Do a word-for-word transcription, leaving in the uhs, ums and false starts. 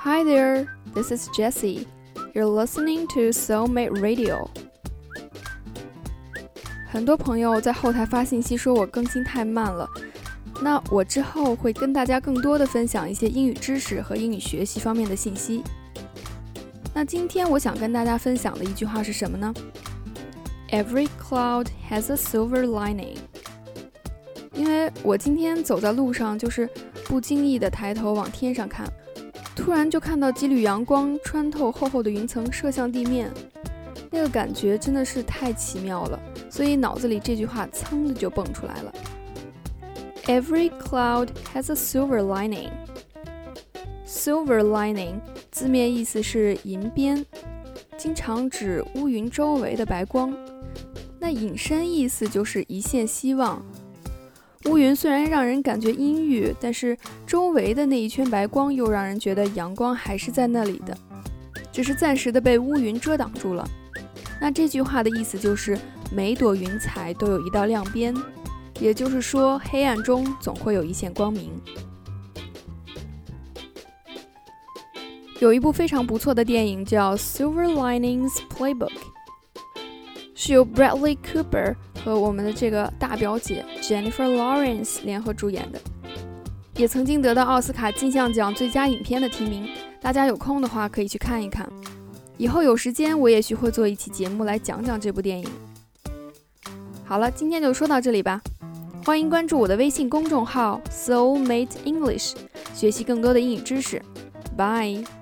Hi there, this is Jessie. You're listening to Soulmate Radio. 很多朋友在后台发信息说我更新太慢了，那我之后会跟大家更多的分享一些英语知识和英语学习方面的信息。那今天我想跟大家分享的一句话是什么呢？ Every cloud has a silver lining. 因为我今天走在路上，就是不经意的抬头往天上看，突然就看到几缕阳光穿透厚厚的云层射向地面，那个感觉真的是太奇妙了，所以脑子里这句话噌的就蹦出来了。 Every cloud has a silver lining. Silver lining 字面意思是银边，经常指乌云周围的白光，那引申意思就是一线希望。乌云虽然让人感觉阴郁，但是周围的那一圈白光又让人觉得阳光还是在那里的，只是暂时的被乌云遮挡住了。那这句话的意思就是每朵云彩都有一道亮边，也就是说黑暗中总会有一线光明。有一部非常不错的电影叫 Silver Linings Playbook， 是由 Bradley Cooper 和我们的这个大表姐 Jennifer Lawrence 联合主演的，也曾经得到奥斯卡金像奖最佳影片的提名，大家有空的话可以去看一看。以后有时间我也许会做一期节目来讲讲这部电影。好了，今天就说到这里吧，欢迎关注我的微信公众号 Soulmate English， 学习更多的英语知识。Bye。